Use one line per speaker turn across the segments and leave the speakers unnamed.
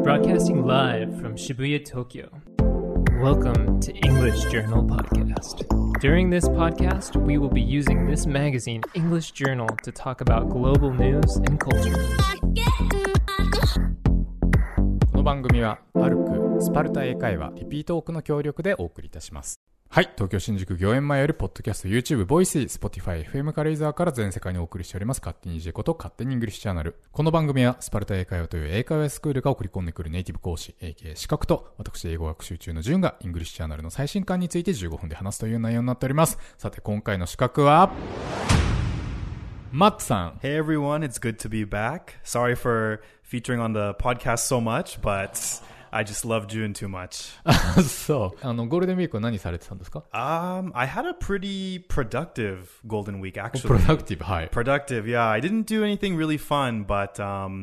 Broadcasting live from Shibuya, Tokyo. Welcome to English Journal Podcast. During this podcast, we will be using this magazine, English Journal, to talk about global news and culture.
この番組はパルクスパルタ英会話リピートオークの協力でお送りいたします。はい、東京新宿御苑前よりポッドキャスト YouTube、ボイシー、Spotify、FM 軽井沢から全世界にお送りしております勝手に EJ こと勝手にイングリッシュチャンネル。この番組はスパルタ英会話という英会話スクールが送り込んでくるネイティブ講師 AK 資格と私英語学習中の順がイングリッシュチャンネルの最新刊について15分で話すという内容になっております。さて今回の資格はマッツさん。
Hey everyone, it's good to be back. Sorry for featuring on the podcast so much, but I just love June too much.
そう。ゴールデンウィークは何されてたんですか？
I had a pretty productive Golden Week actually.
Productive, はい。
Productive, yeah. I didn't do anything really fun, but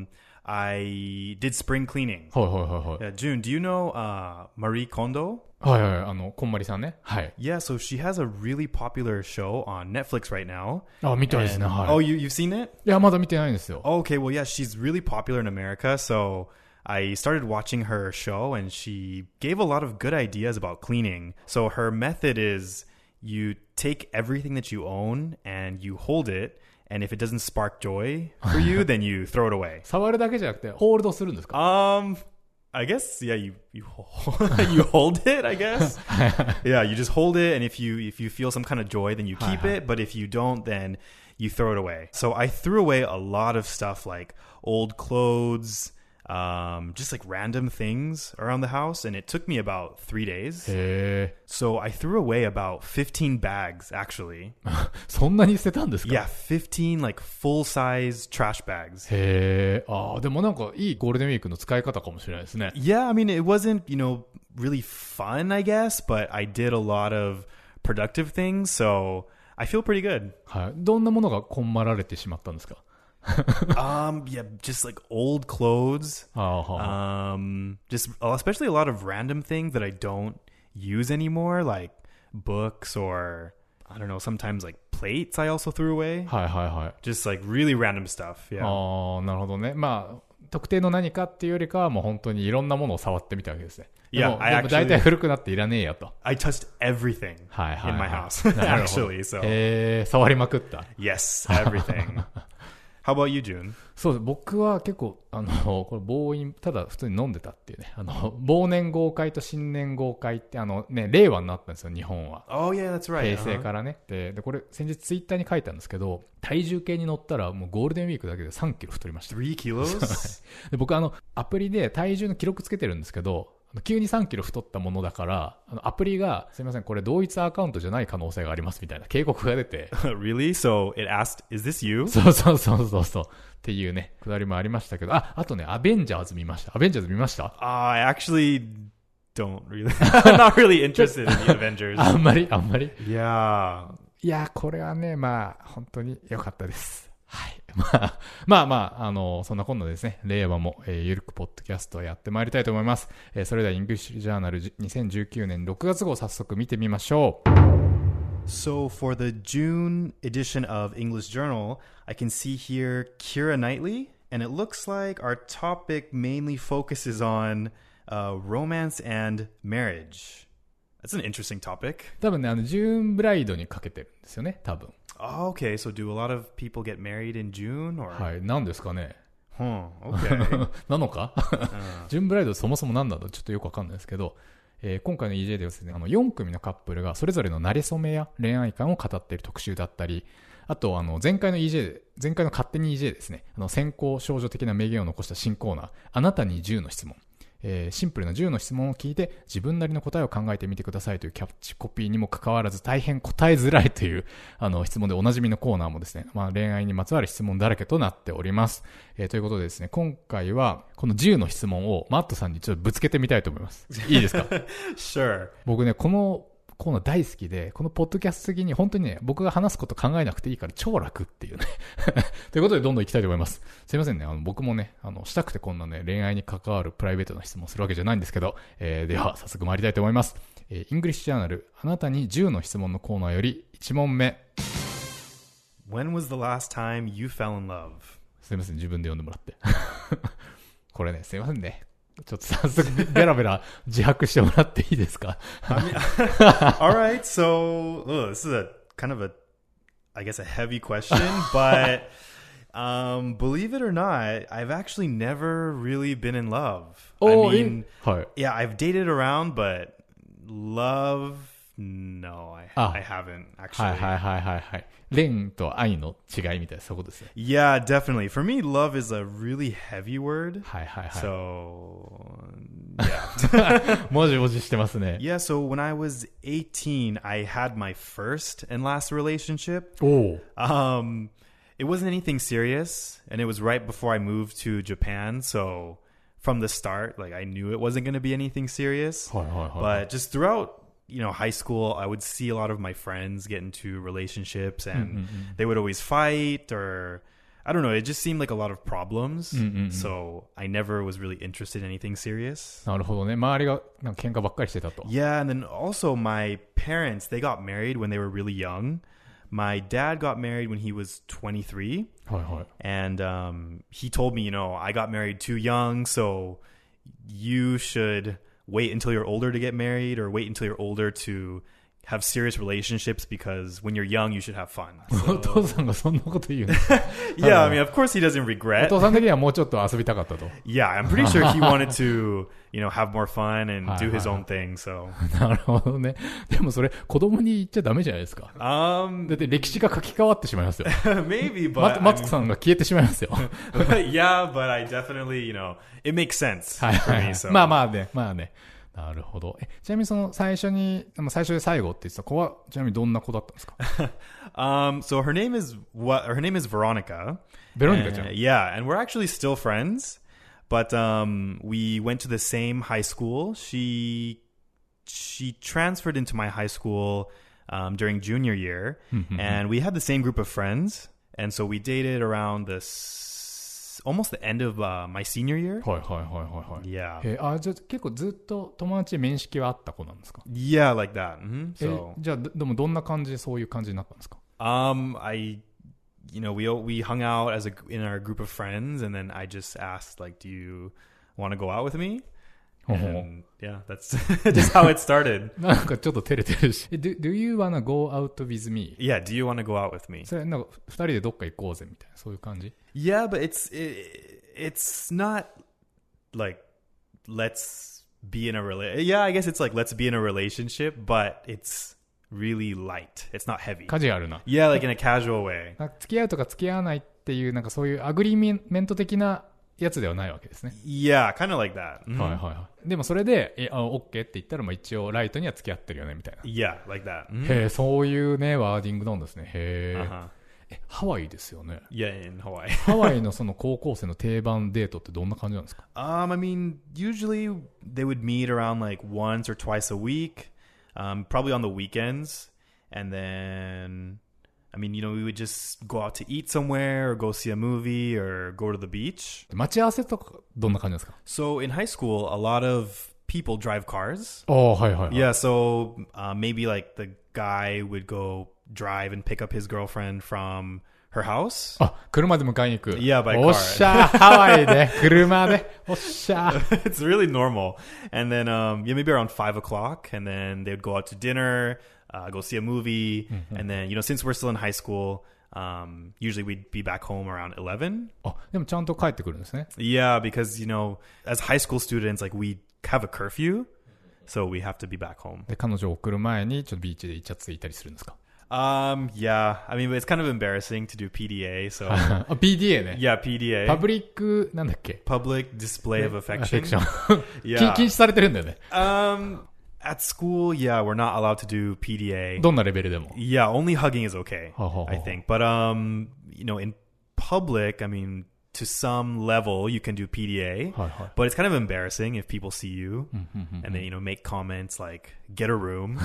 I did spring cleaning.
はいはいはいはい。
June, do you know Marie Kondo?
はいはい、こんまりさんね。はい。
Yeah, so she has a really popular show on Netflix right now.
あ、見たいですね。はい。
Oh, you've seen it?
いや、まだ見てないんですよ。
Okay, well, yeah, she's really popular in America, so I started watching her show and she gave a lot of good ideas about cleaning. So her method is you take everything that you own and you hold it, and if it doesn't spark joy for you, then you throw it away.
触るだけじゃなくてホールドするんですか？
I guess, yeah, you hold it, I guess. Yeah, you just hold it, and if you feel some kind of joy, then you keep it, but if you don't, then you throw it away. So I threw away a lot of stuff like old clothes, just like random things around the house, and it took me about 3 days.
へー。
So I threw away about 15 bags, actually.
そんなに捨てたんですか？
Yeah, 15 like full-size trash bags.
へー。でもなんかいいゴールデンウィークの使い方かもしれないですね。
Yeah, I mean, it wasn't, really fun, I guess, but I did a lot of productive things, so I feel pretty good.
はい。どんなものがこんまられてしまったんですか？
Yeah, just like old clothes. Just especially a lot of random things that I don't use anymore, like books or I don't know, sometimes like plates I also threw away.
はいはいはい。
Just like really random stuff. Yeah.
なるほどね。まあ特定の何かっていうよりかはもう本当にいろんなものを触ってみたわけですね。でも大体古くなっていらねえよと。
I touched everything in my house,
なるほど。
actually. So
触りまくった。
yes, everything. How about you, June?
そうです。僕は結構これ暴飲、ただ普通に飲んでたっていうね。忘年豪快と新年豪快って令和になったんですよ、日本は。
Oh yeah, that's right.
平成からね。でこれ先日ツイッターに書いたんですけど、体重計に乗ったらもうゴールデンウィークだけで3キロ太りました。
3 kilos?
で僕アプリで体重の記録つけてるんですけど、急に3キロ太ったものだからアプリがすいませんこれ同一アカウントじゃない可能性がありますみたいな警告が出て
Really? So it asked, is this you?
そうっていうねくだりもありましたけど、あとねアベンジャーズ見ました。アベンジャーズ見ました？
I actually don't really I'm not really interested in the Avengers.
あんまり
Yeah.
いやこれはねまあ本当に良かったです。はい。まあ、そんなこんなですね、令和も、ゆるくポッドキャストをやってまいりたいと思います。それでは、イングリッシュジャーナル2019年6月号早速見てみましょう。
So for the June edition of English Journal, I can see here Keira Knightley, and it looks like our topic mainly focuses on romance and marriage. That's an interesting topic.
多分ね、ジューンブライドにかけてるんですよね、多分。
Oh, okay, so do a lot of people get married in June? Or?
はい、何ですかね。
Okay.
なのかジューンブライドそもそも何だとちょっとよくわかんないですけど、今回の EJ ではですね、4組のカップルがそれぞれの馴れ初めや恋愛観を語っている特集だったり、あと前回の勝手に EJ ですね、先行少女的な名言を残した新コーナー、あなたに10の質問。シンプルな10の質問を聞いて自分なりの答えを考えてみてくださいというキャッチコピーにもかかわらず大変答えづらいという質問でおなじみのコーナーもですね、恋愛にまつわる質問だらけとなっております。ということでですね、今回はこの10の質問をマットさんにちょっとぶつけてみたいと思います。いいですか？
Sure.
僕ね、このコーナー大好きで、このポッドキャスト的に本当にね、僕が話すこと考えなくていいから超楽っていうね。ということでどんどん行きたいと思います。すいませんね、僕もね、したくてこんなね、恋愛に関わるプライベートな質問をするわけじゃないんですけど、では早速参りたいと思います。イングリッシュジャーナル、あなたに10の質問のコーナーより1問目。
When was the last time you fell in love?
すいません、自分で読んでもらって。これね、すいませんね。 ちょっと早速ベラベラ自白してもらっていいですか？
All right, so this is a kind of I guess a heavy question, but believe it or not, I've actually never really been in love. I mean, yeah, I've dated around, but love, no, I haven't actually.
はい。恋と愛の違いみたいな、そういうことですね。
Yeah, definitely. For me, love is a really heavy word.
はい。
So, yeah.
もじもじしてますね。
Yeah, so when I was 18, I had my first and last relationship. It wasn't anything serious, and it was right before I moved to Japan, so from the start, like I knew it wasn't going to be anything serious. But just throughout, high school, I would see a lot of my friends get into relationships, and they would always fight, or I don't know, it just seemed like a lot of problems. So I never was really interested in anything serious.
なるほどね。周りがなんか喧嘩ばっかりしてたと。
Yeah, and then also my parents, they got married when they were really young. My dad got married when he was 23. And he told me, I got married too young, so you should wait until you're older to get married, or wait until you're older to have serious relationships, because when you're young, you should have fun.
お父さんがそんなこと言うの？
Yeah, I mean, of course he doesn't
お
regret.
父さん的にはもうちょっと遊びたかったと。
Yeah, I'm pretty sure he wanted to, have more fun and do his own thing, so.
なるほどね。でもそれ子供に言っちゃダメじゃないですか。だって歴史が書き換わってしまいますよ。
Maybe, but
マツコさんが消えてしまいますよ。
Yeah, but I definitely, it makes sense for me, so.
まあね。なるほど。ちなみにその最初で最後って言ってた子はちなみにどんな子だったんですか？
So her name is Veronica.
Veronica ちゃん。
Yeah, and we're actually still friends, but we went to the same high school. She transferred into my high school during junior year, and we had the same group of friends, and so we dated around almost the end of my senior year.
はい。
Yeah.
じゃあ結構ずっと友達面識はあった子なんですか？
Yeah, like that. So.
じゃあでもどんな感じでそういう感じになったんですか？
We hung out in our group of friends, and then I just asked, like, do you want to go out with me? And yeah, that's just how it started.
なんかちょっと照れてるし。Do you wanna go out with me?
Yeah, do you want to go out with me?
それなんか二人でどっか行こうぜみたいなそういう感じ？
Yeah, but it's not like let's be in a Yeah, I guess it's like let's be in a relationship, but it's really light. It's not heavy.
カジュアルな。
Yeah, like in a casual way.
付き合うとか付き合わないっていうなんかそういうアグリーメント的なやつではないわけですね。
Yeah, kind of like that.
はい。でもそれでOK って言ったら一応ライトには付き合ってるよねみたいな。
Yeah, like that.
へえ、そういうねワーディングなんですね。へえ。ハワイですよね。
Yeah, in Hawaii.
ハワイのその高校生の定番デートってどんな感じなんですか？
I mean, usually they would meet around like once or twice a week, probably on the weekends, and then. I mean, we would just go out to eat somewhere or go see a movie or go to the beach.
待ち合わせとかどんな感じですか？
So in high school, a lot of people drive cars.
はい。
Yeah, so maybe like the guy would go drive and pick up his girlfriend from her house.
車で迎えに行く。
Yeah, by car.
おっしゃー、ハワイで車で。おっしゃー。
It's really normal. And then, maybe around 5 o'clock, and then they would go out to dinner. Go see a movie, and then since we're still in high school, usually we'd be back home around 11.
でもちゃんと帰ってくるんですね。
Yeah, because as high school students, like we have a curfew, so we have to be back home.
で彼女を送る前にちょっとビーチでイチャついたりするんですか？
Yeah, I mean, it's kind of embarrassing to do PDA, so.
PDA ね。
Yeah, PDA.
パブリックなんだっけ？
Public display of affection.
Yeah. 禁止されてるんだよね。
At school, yeah, we're not allowed to do PDA.
どんなレベルでも。
Yeah, only hugging is okay, I think. But, in public, I mean, to some level, you can do PDA. But it's kind of embarrassing if people see you and then, make comments like, get a room.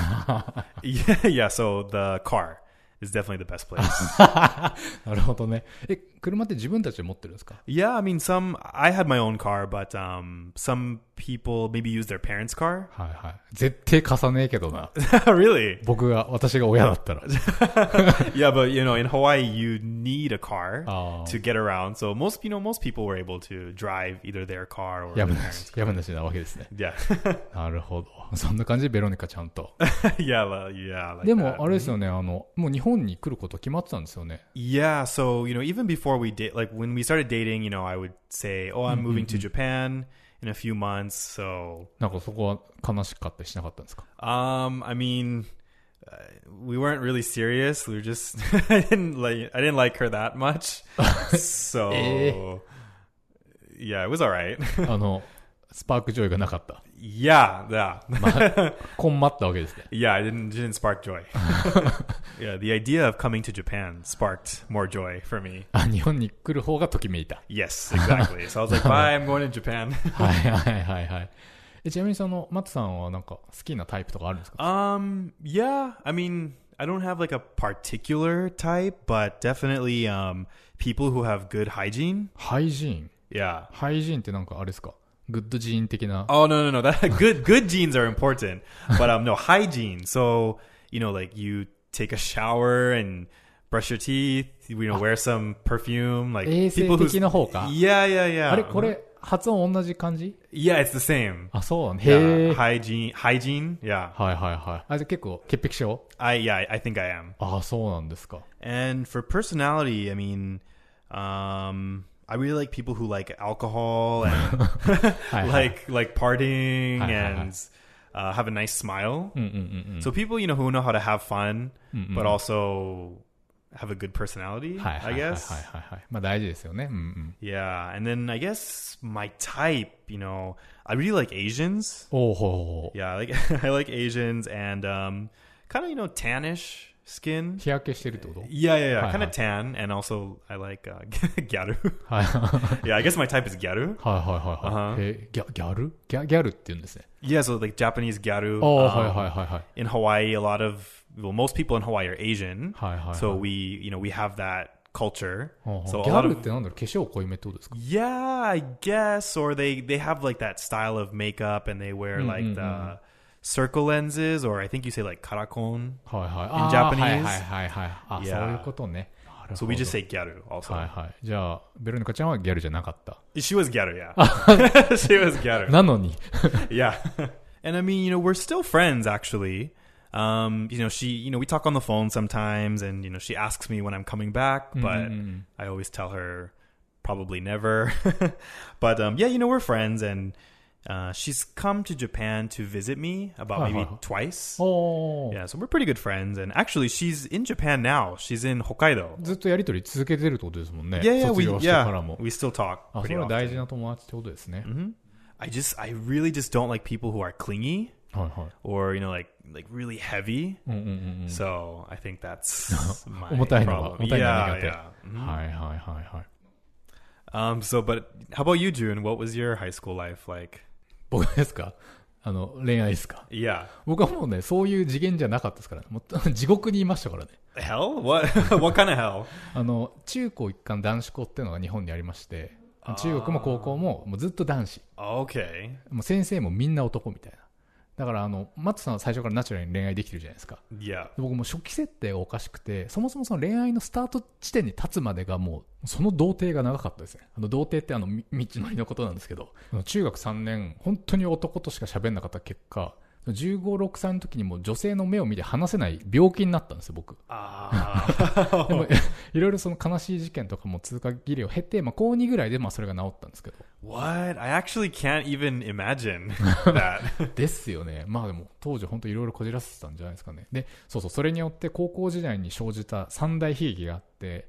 Yeah, so the car is definitely the best place.
なるほどね。 車って自分たちで持ってるんですか？
Yeah, I mean, I had my own car, but some people maybe use their parents' car.
はいはい。絶対貸さねえけどな。
Really?
私が親だったら。
Yeah, but you know, in Hawaii, you need a car
Oh.
to get around. So most people were able to drive either their car or
や
their
むな
parents'
し、
car.
やむなしなわけですね。
Yeah.
なるほど。そんな感じでベロニカちゃんと。
yeah, like
でも
that.
あれですよね、もう日本に来ること決まってたんですよね。
Yeah, so you know, even before we did, like when we started dating, you know, I would say, "Oh, I'm moving to Japan in a few months." So,
なんかそこは悲しかったりしなかったんですか？
I mean, we weren't really serious. We were just I didn't like her that much. So, yeah, it was all right.
スパークジョイがなかった。
Yeah.
こんまったわけですね。
Yeah, it didn't spark joy. Yeah, the idea of coming to Japan sparked more joy for me.
日本に来る方がときめいた。
Yes, exactly. So I was like, bye, I'm going to Japan.
はいはいはいはい。ちなみにマットさんはなんか好きなタイプとかあるんですか？
Yeah, I mean, I don't have like a particular type, but definitely people who have good hygiene.
ハイジーン。
Yeah.
ハイジーンってなんかあれですか？グッドジーン的な。
Oh, no. That good genes are important, but no, hygiene. So, you know, like you take a shower and brush your teeth, you know, wear some perfume, like
衛生
people who
的な方か。
Yeah.
あれこれ発音同じ感じ？
Yeah, it's the same.
あ、そうなん。へ
Yeah,
ー。
hygiene. Yeah.
はいはいはい。あ、じゃあ結構潔癖症？
I think I am.
あ、そうなんですか。
And for personality, I mean, I really like people who like alcohol and like partying and have a nice smile. So people, you know, who know how to have fun, but also have a good personality, I guess.
はいはいはい。まあ大事ですよね。うんうん。
Yeah, and then I guess my type, you know, I really like Asians.
おおほう。
Yeah, I like Asians and kind of, you know, tannish skin.
日焼けしてるってこと？
Yeah.
Hi,
Kind
hi.
of tan, and also I like gyaru.
はいはい
Yeah, I guess my type is gyaru.
はい。ギャルギャルって言うんですね。
Yeah, so like Japanese gyaru.
はいはいはいはい。
In Hawaii, most people in Hawaii are Asian.
はいはいはい。
So we have that culture.
ほうほう
So
ギ
a
ャ
lot
ル
of
ってなんだろう、化粧濃いめってことですか？
yeah, I guess, or they have like that style of makeup, and they wear like the circle lenses, or I think you say like karakon.
はいはい。
In
あー
Japanese?
はいはいはいはい。あ、
Yeah.
そういうことね。なるほ
So
ど
we just say gyaru also.
はいはい。じゃあ、ベロニカちゃんはギャルじゃなかった。
She was gyaru, yeah. She was gyaru.
なのに。
Yeah. And I mean, you know, we're still friends actually. You know, we talk on the phone sometimes, and you know, she asks me when I'm coming back, but I always tell her probably never. But yeah, you know, we're friends, and she's come to Japan to visit me about maybe twice.
おー。
Yeah, so we're pretty good friends, and actually, she's in Japan now. She's in Hokkaido.
ずっとやりとり続けてるってことですもんね。
Yeah,
卒業してからも。
we still talk
あ、そ
pretty
れは大事
often.
な友達ってことですね。
I really just don't like people who are clingy
はいはい。
or you know, like really heavy.
うんうんうんうん。
So I think that's my
重たいのが、
problem.
重たいのが苦手。
Yeah.
はいはいはいはい。
So, but how about you, June? What was your high school life like?
僕ですか？恋愛ですか？
Yeah.
僕はもうね、そういう次元じゃなかったですからね。もう地獄にいましたからね。
Hell? What? What kind of hell?
中高一貫男子校っていうのが日本にありまして、中学も高校ももうずっと男子。
Okay.
もう先生もみんな男みたいな。だからマットさんは最初からナチュラルに恋愛できてるじゃないですか。
Yeah.
僕も初期設定がおかしくて、そもそもその恋愛のスタート地点に立つまでがもう、その童貞が長かったですね。童貞って道のりのことなんですけど、中学3年、本当に男としか喋んなかった結果、15、6歳の時にもう女性の目を見て話せない病気になったんですよ、僕。でもいろいろその悲しい事件とかも通過儀礼を経て、高2ぐらいでそれが治ったんですけど。
What? I actually can't even imagine that.
ですよね。でも当時本当いろいろこじらせてたんじゃないですかね。で、それによって高校時代に生じた三大悲劇があって、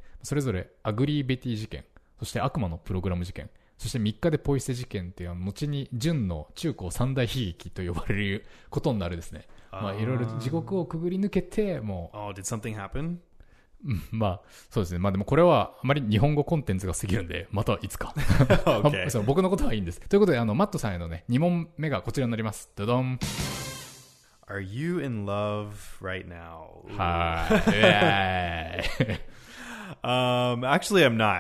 それぞれアグリーベティ事件、そして悪魔のプログラム事件、そして3日でポイ捨て事件っていう後に純の中高三大悲劇と呼ばれることになるですね。いろいろ地獄をくぐり抜けて、もう。
Oh, did something happen?
そうですね。でもこれはあまり日本語コンテンツが過ぎるんで、またいつか。
Okay.
そう僕のことはいいんです。ということで、マットさんへのね、2問目がこちらになります。ドドン。
Are you in love right now?
はい。
Actually, I'm not.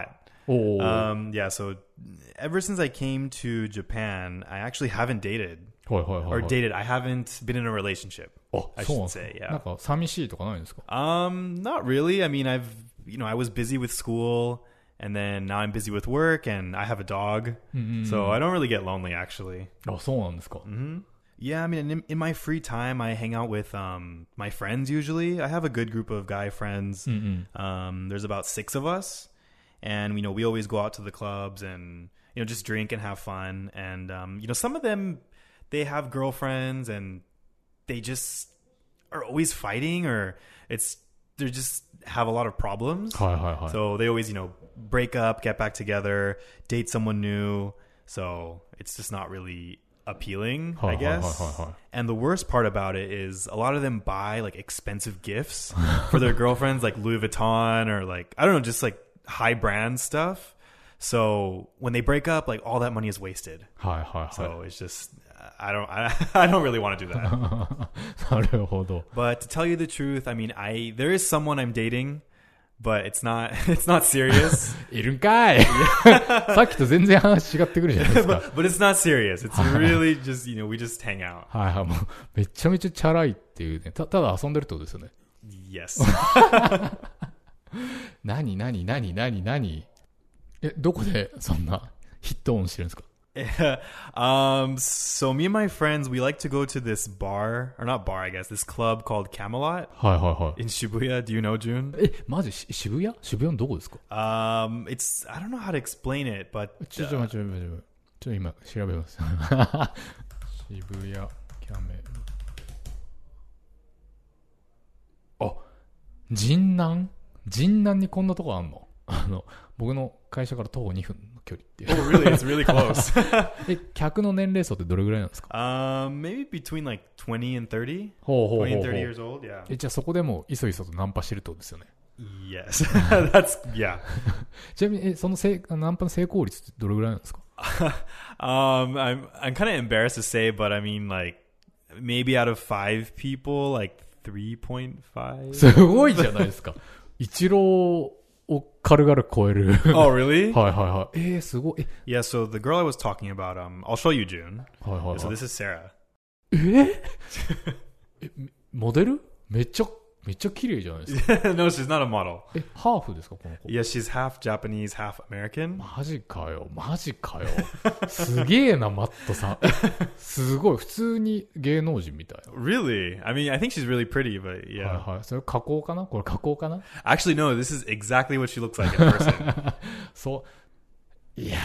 Yeah, so ever since I came to Japan, I actually haven't dated. Or dated. I haven't been in a relationship. I should say, yeah.
なんか寂しいとかないんですか？
Not really. I mean, I was busy with school, and then now I'm busy with work, and I have a dog, so I don't really get lonely, actually.
あ、そうなんですか。
Yeah, I mean, in my free time, I hang out with my friends usually. I have a good group of guy friends. There's about 6 of us, and we always go out to the clubs and just drink and have fun. And some of them, they have girlfriends, and they just are always fighting, or they just have a lot of problems. So they always break up, get back together, date someone new. So it's just not really appealing, I guess. And the worst part about it is a lot of them buy like expensive gifts for their girlfriends, like Louis Vuitton or like, I don't know, just like high brand stuff. So when they break up, like all that money is wasted. So it's just, I don't really want to do that.
なるほど。
But to tell you the truth, I mean, there is someone I'm dating, but it's not serious.
いるんかい。さっきと全然話違ってくるじゃないですか。
but it's not serious. It's really just, we just hang out.
もうめちゃめちゃチャラいっていうね。ただ遊んでるってことですよね。
Yes.
何どこでそんなヒットオンしてるんですか？
So me and my friends, we like to go to this bar, or not bar, I guess, this club called Camelot in Shibuya. Do you know, June?
マジ渋谷のどこですか？
I don't know how to explain it, but
ちょ今調べます。渋谷キャメル。神南にこんなとこあんの？僕の会社から徒歩2分の距離っていう。
Oh, really? It's really close.
客の年齢層ってどれぐらいなんですか？
Maybe between like 20 and 30. 20 and 30 years old, yeah.
じゃあそこでもいそいそとナンパしてるってことですよね。
Yes. Yeah.
ちなみにそのナンパの成功率ってどれぐらいなんですか？
I'm kind of embarrassed to say, but I mean like maybe out of 5 people, like 3.5.
すごいじゃないですか。一郎を軽々超える。
Oh, really?
すごい。
Yeah, so the girl I was talking about, I'll show you, June. So this is Sarah.
モデル？めっちゃ綺麗じゃないですか。
No, she's not a model.
ハーフですかこの子？
Yeah, she's half Japanese, half American.
マジかよ。すげえな、マットさん。すごい。普通に芸能人みたいな。
Really? I mean, I think she's really pretty, but yeah.
それ加工かな？これ加工かな？
Actually, no, this is exactly what she looks like in person.
そう。いやー。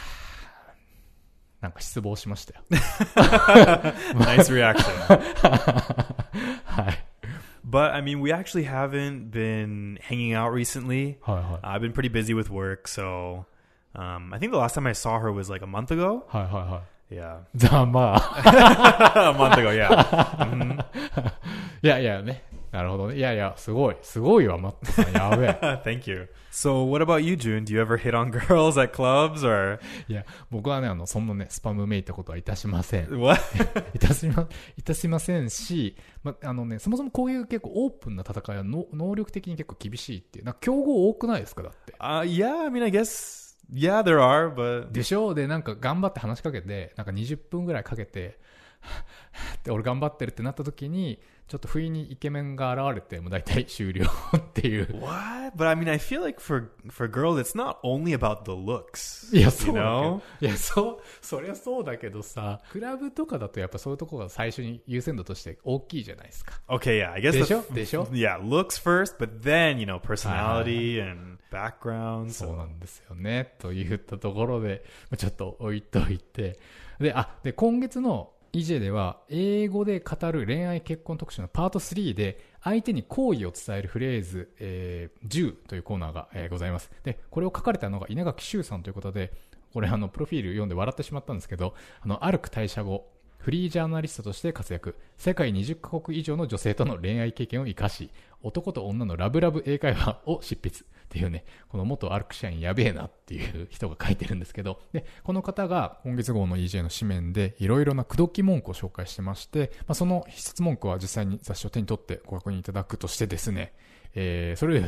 なんか失望しましたよ。
Nice reaction.
はい。
But I mean, we actually haven't been hanging out recently. I've been pretty busy with work, so I think the last time I saw her was like a month ago. Yeah.
じゃあま
あ。A month ago, yeah.
いやね。なるほどね。いや、すごいわ、マットさん。やべえ。
Thank you. So, what about you, June? Do you ever hit on girls at clubs, or?
いや、僕はね、そんなね、スパムめいたことはいたしません。
What?
いたしませんし、そもそもこういう結構オープンな戦いは能力的に結構厳しいっていう。なんか競合多くないですかだって。
Yeah, I mean, I guess, yeah, there are, but.
でしょ？で、なんか頑張って話しかけて、なんか20分ぐらいかけて、で俺頑張ってるってなった時にちょっと不意にイケメンが現れてもう大体終了っていう。
What? But I mean, I feel like for girls it's not only about the looks.
いやそうだけど、いやそりゃそうだけどさ、クラブとかだとやっぱそういうところが最初に優先度として大きいじゃないですか。
Okay, yeah, I guess
でしょ
Yeah, looks first, but then, personality and background.
そうなんですよね。といったところでちょっと置いといて、で今月のEJ では英語で語る恋愛結婚特集のパート3で相手に好意を伝えるフレーズ、10というコーナーが、ございます。でこれを書かれたのが稲垣修さんということで、これプロフィール読んで笑ってしまったんですけど、アルク退社後フリージャーナリストとして活躍、世界20カ国以上の女性との恋愛経験を生かし、男と女のラブラブ英会話を執筆っていうね、この元アルク社員やべえなっていう人が書いてるんですけど、でこの方が今月号の EJ の紙面でいろいろな口説き文句を紹介してまして、その必殺文句は実際に雑誌を手に取ってご確認いただくとしてですね、それでですね、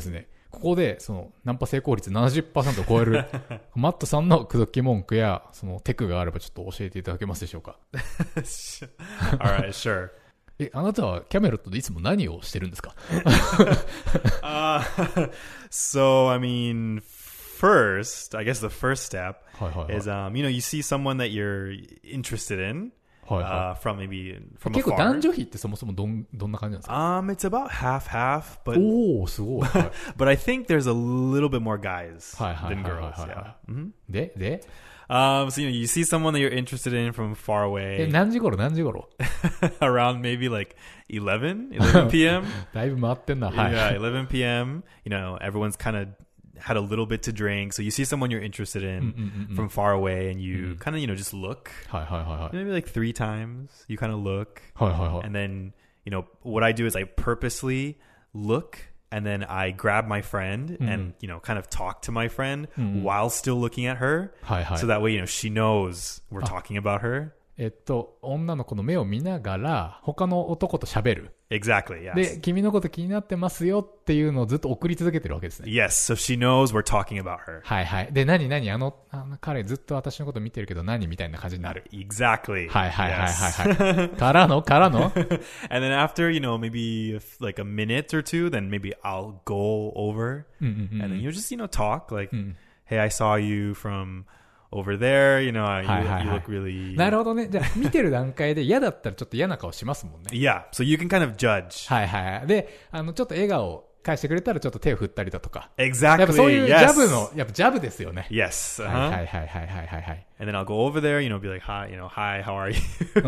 ここで、その、ナンパ成功率 70% を超える、マットさんの口説き文句や、その、テクがあればちょっと教えていただけますでしょうか。
Alright, sure.
あなたはキャメロットでいつも何をしてるんですか？
So, I mean, first, I guess the first step
はいはいはい。
is, you see someone that you're interested in,
はいは
from maybe
い。
from
結構
afar.
男女比ってそもそもどんな感じなんですか？
It's about half, but
おー、すごい。はい
but I think there's a little bit more guys
はいはい
than
はいはい
girls.
はい
Yeah. Mhm.
で
So you see someone that you're interested in from far away
何時頃
around maybe like 11 p.m.
だいぶ回ってんな。はい。
Yeah, 11 p.m. Everyone's kind of had a little bit to drink. So you see someone you're interested in from far away and you kind of, just look.
はいはいはいはい。
Maybe like 3 times. You kind of look.
はいはいはい。
And then, what I do is I purposely look and then I grab my friend and, kind of talk to my friend while still looking at her.
はいはい。
So that way, she knows we're talking about her.
女の子の目を見ながら、他の男と喋る。
Exactly, yes.
で、君のこと気になってますよっていうのをずっと送り続けてるわけですね。
Yes, so she knows we're talking about her.
はいはい。で、何あの彼ずっと私のこと見てるけど何みたいな感じになる。
Exactly.
はいはいはいはい
Yes.
はい。からの
And then after, maybe like a minute or two, then maybe I'll go over and then just, talk like, hey, I saw you from over there, you look really...
なるほどね。じゃあ、見てる段階で嫌だったらちょっと嫌な顔しますもんね。
Yeah, so you can kind of judge.
はいはい。で、ちょっと笑顔を返してくれたらちょっと手を振ったりだとか。
Exactly,
やっぱそういうジャブ
yes.
の、やっぱジャブですよね。
Yes.
はいはいはいはいはいはい。
And then I'll go over there, be like, hi, hi, how are you?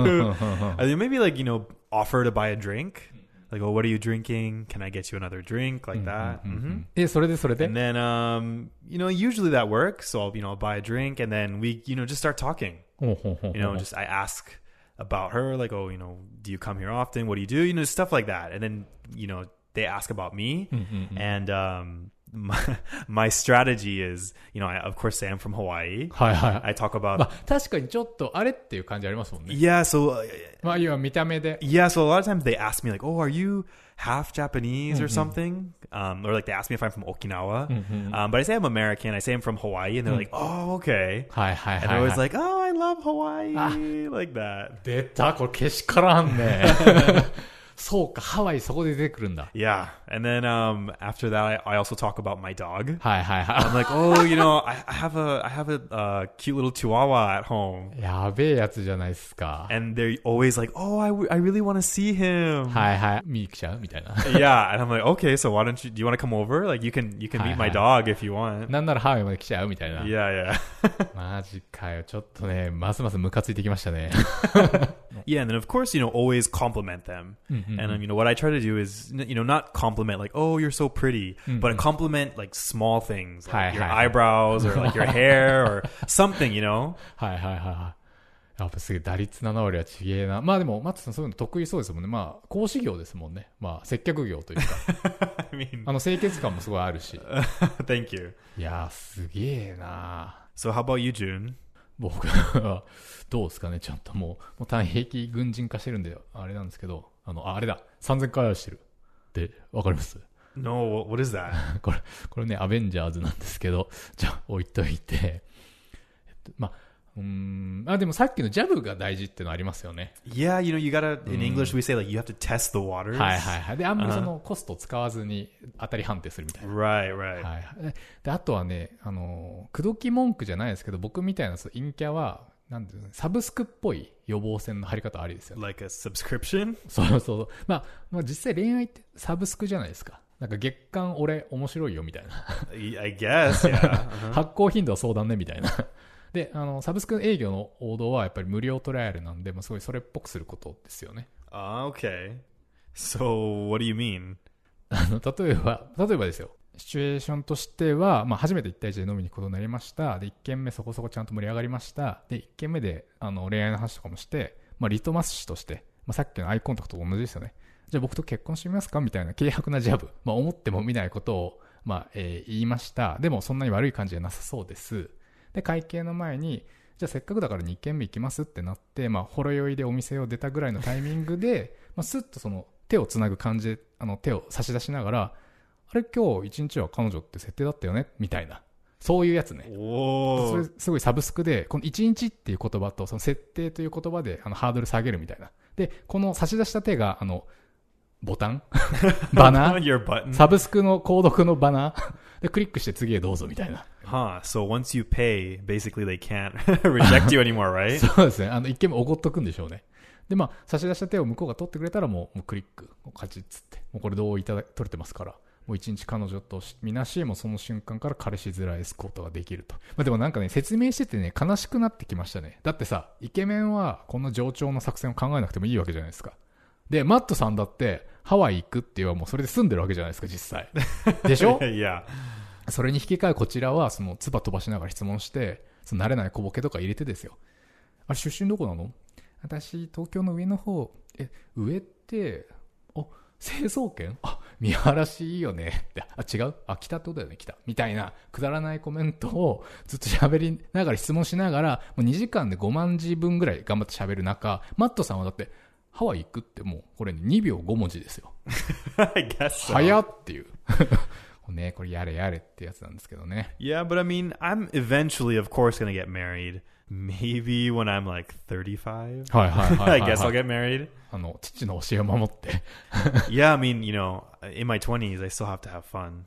And then maybe like, offer to buy a drink. Like, oh, what are you drinking? Can I get you another drink? Like that.
それで
And then, usually that works. So I'll buy a drink and then we, just start talking. I ask about her, like, oh, do you come here often? What do you do? Stuff like that. And then, they ask about me. And, my strategy is, I of course say I'm from Hawaii.
はいはい。
I talk about...
まあ、確かにちょっとあれっていう感じありますもんね。
Yeah, so...
まあ、要は見た目で。
Yeah, so a lot of times they ask me like, oh, are you half Japanese or something? Or like they ask me if I'm from Okinawa. But I say I'm American. I say I'm from Hawaii. And they're like, oh, okay.
はいはいはい、はい。
And they're always like, oh, I love Hawaii. Like that.
出た、これけしからんね。そうか、ハワイそこで出てくるんだ。
Yeah. And then after that, I also talk about my dog.
はいはいはい。
I'm like, oh, I have a cute little chihuahua at home.
やべえやつじゃないですか。
And they're always like, oh, I really want to see him.
はいはい。見に来ちゃうみたいな。
Yeah. And I'm like, okay, so do you want to come over? Like you can meet my dog if you want.
なんならハワイまで来ちゃうみたいな。
Yeah, yeah.
マジかよ。ちょっとね、ますますムカついてきましたね。
Yeah, and then of course, always compliment them. And what I try to do is, not compliment like, oh, you're so pretty, but compliment like small things, like your eyebrows or like your hair or something,
はいはいはいはい。やっぱすげえ打率7割はちげえな。まあでも、マッツさんそういうの得意そうですもんね。まあ、講師業ですもんね。まあ、接客業というか。
I mean,
清潔感もすごいあるし。
thank you.
いやー、すげえな。
So how about you, June?
僕は、どうですかね、ちょっともう単兵器軍人化してるんで、あれなんですけど、あれだ、3000回愛してる。って、わかります？
No, what is that?
これね、アベンジャーズなんですけど、じゃあ置いといて、まあ、でもさっきのジャブが大事ってのありますよね。
Yeah, you gotta, in English we say like you have to test the waters.
はいはいはい。で、あんまりそのコストを使わずに当たり判定するみたいな。
Right.
はい。で、あとはね、口説き文句じゃないですけど、僕みたいな陰キャは、なんていうの、サブスクっぽい予防線の張り方ありですよね。
Like a subscription?
そうそう。まあ実際恋愛ってサブスクじゃないですか。なんか月間俺面白いよみたいな。
I guess, yeah.
発行頻度は相談ねみたいな。で、サブスク営業の王道はやっぱり無料トライアルなんで、すごいそれっぽくすることですよね。
Okay. So, what do you mean?
例えばですよ。シチュエーションとしては、初めて1対1で飲みに行くことになりました。で、1軒目そこそこちゃんと盛り上がりました。で、1軒目で、恋愛の話とかもして、リトマス紙として、さっきのアイコンタクトと同じですよね。じゃあ僕と結婚してみますかみたいな軽薄なジャブ。思っても見ないことを、言いました。でもそんなに悪い感じじゃなさそうです。で、会計の前に、じゃあせっかくだから2軒目行きますってなって、ほろ酔いでお店を出たぐらいのタイミングで、スッとその手をつなぐ感じで、手を差し出しながら、 あれ今日一日は彼女って設定だったよねみたいな、そういうやつね。それすごいサブスクで、この一日っていう言葉とその設定という言葉でハードル下げるみたいな。で、この差し出した手がボタンバナーサブスクの購読のバナーでクリックして次へどうぞみたいな。
So once you pay, basically they can't reject you anymore, right?
そうですね。一見もおごっとくんでしょうね。で、差し出した手を向こうが取ってくれたらもうクリック、カチッつって、もうこれ同意取れてますから、もう一日彼女とみなし、もうその瞬間から彼氏面エスコートができると。でもなんかね、説明しててね、悲しくなってきましたね。だってさ、イケメンはこの冗長の作戦を考えなくてもいいわけじゃないですか。で、マットさんだってハワイ行くって言えばもうそれで済んでるわけじゃないですか、実際。でしょ
いや。
それに引き換えこちらは、唾飛ばしながら質問して、慣れない小ボケとか入れてですよ。あれ出身どこなの？私、東京の上の方。上って、成層圏？見晴らしいいよね。って違う？北ってことだよね、北。みたいな、くだらないコメントをずっと喋りながら質問しながら、もう2時間で5万字分ぐらい頑張って喋る中、マットさんはだって、ハワイ行くってもう、これ2秒5文字ですよ。
I guess so.
早っていう。ね、これやれやれってやつなんですけどね。
Yeah, but I mean, I'm eventually, of course, gonna get married. Maybe when I'm like 35. I guess I'll get married.
父の教えを守って。
Yeah, I mean, you know, in my 20s, I still have to have fun.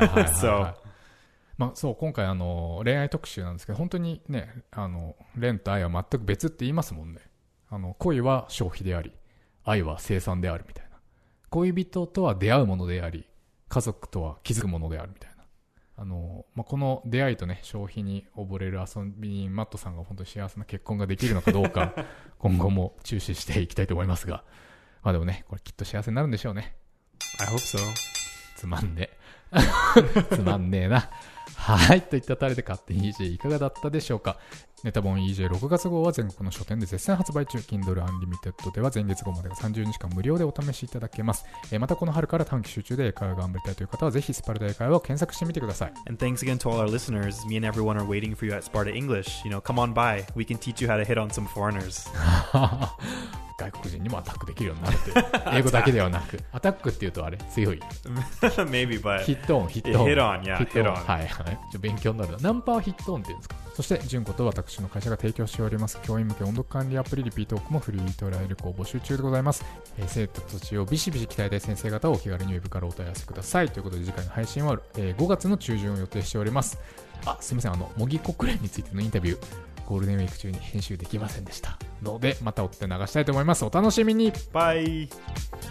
So.
そう、今回恋愛特集なんですけど、本当にね、恋と愛は全く別って言いますもんね。恋は消費であり、愛は生産であるみたいな。恋人とは出会うものであり、家族とは気づくものであるみたいな。この出会いとね、消費に溺れる遊びにマットさんが本当に幸せな結婚ができるのかどうか、今後も注視していきたいと思いますが。でもね、これきっと幸せになるんでしょうね。
I hope so.
つまんねえ。つまんねえな。はい。といったタレで勝手に EJ いかがだったでしょうか。ネタ本 EJ6 月号は全国の書店で絶賛発売中。Kindle Unlimited では前月号までが30日間無料でお試しいただけます。またこの春から短期集中で英会話が頑張りたいという方はぜひスパルタ英会話を検索してみてください。
And thanks again to all our listeners. Me and everyone are waiting for you at Sparta English. You know, come on by. We can teach you how to hit on some foreigners.
外国人にもアタックできるようになるという。英語だけではなく、アタックっていうとあれ強い。
Maybe, but
ヒットオン。
hit on, yeah, hit on.
はいはい。勉強になるな。ナンパはヒットオンっていうんですか。そして、純子と私の会社が提供しております教員向け音読管理アプリリピートークもフリートライル校募集中でございます。生徒たちをビシビシ鍛えたい先生方をお気軽にウェブからお問い合わせください。ということで次回の配信は、5月の中旬を予定しております。すみません、模擬国連についてのインタビュー、ゴールデンウィーク中に編集できませんでしたので、また追って流したいと思います。お楽しみに。
バイ。